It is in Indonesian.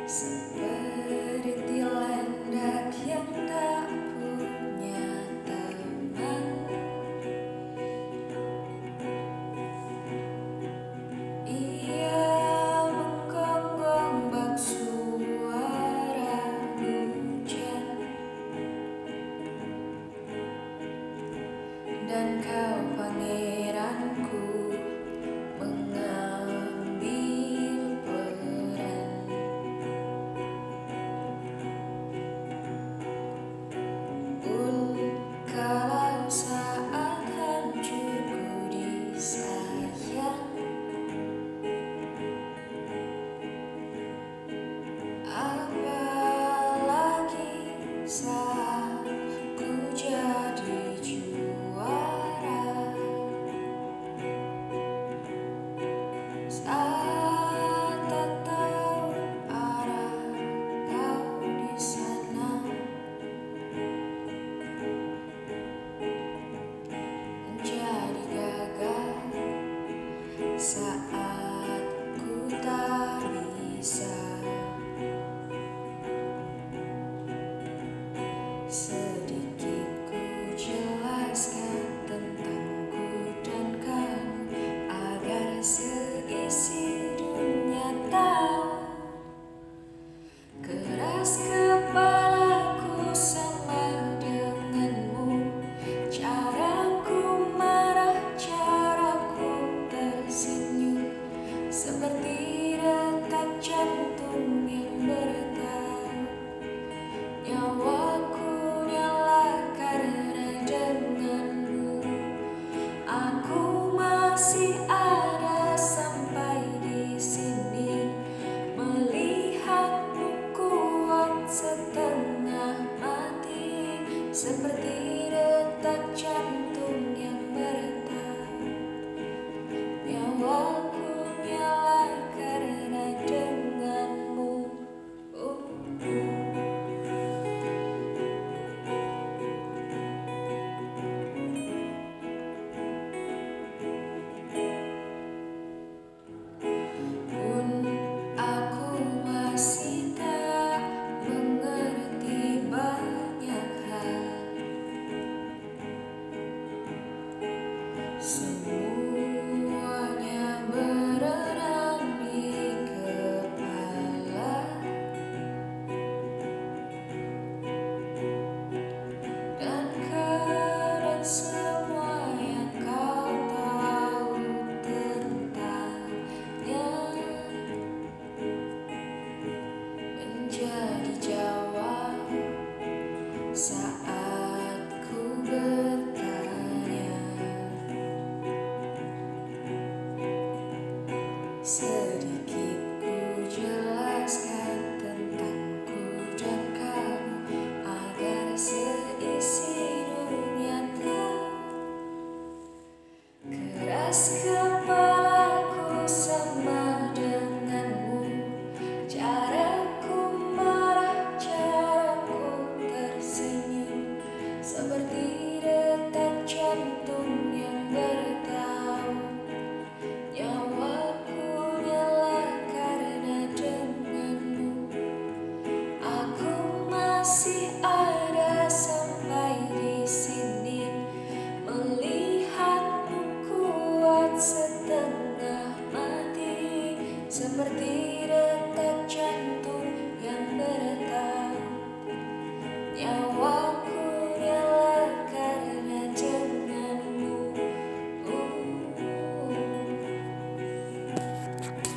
Seperti landak yang tak punya teman, ia menggonggong bak suara hujan. Dan kau pangeranku mengambil peran, pun kalau saat hancurku disayang, apalagi saat ku jadi juara. Saat tak tahu arah kau di sana, menjadi gagal saat ku tak bisa. Sedikit ku jelaskan tentangku dan kamu, agar seisi dunia tahu. Keras kepalaku sama denganmu, caraku marah, caraku tersenyum, seperti detak jantung yang bertahan. Nyawaku nyala karena denganmu, aku masih ada sampai di sini. Melihatmu kuat setengah mati, seperti detak jantung yang bertahan. Nyawaku nyala karena denganmu. Pun aku masih tak mengerti banyak hal. Semuanya berenang di kepala, dan karena semua yang kau tahu tentangnya menjadi jawab saat ku bertanya. Sedikit ku jelaskan tentangku dan kamu, agar seisi dunia tahu. Keras kepalaku sama denganmu, caraku marah, caraku tersenyum, seperti detak jantung yang bertahan. Nyawaku nyala karena denganmu, aku masih ada sampai di sini. Melihatmu kuat setengah mati, seperti detak jantung yang bertahan.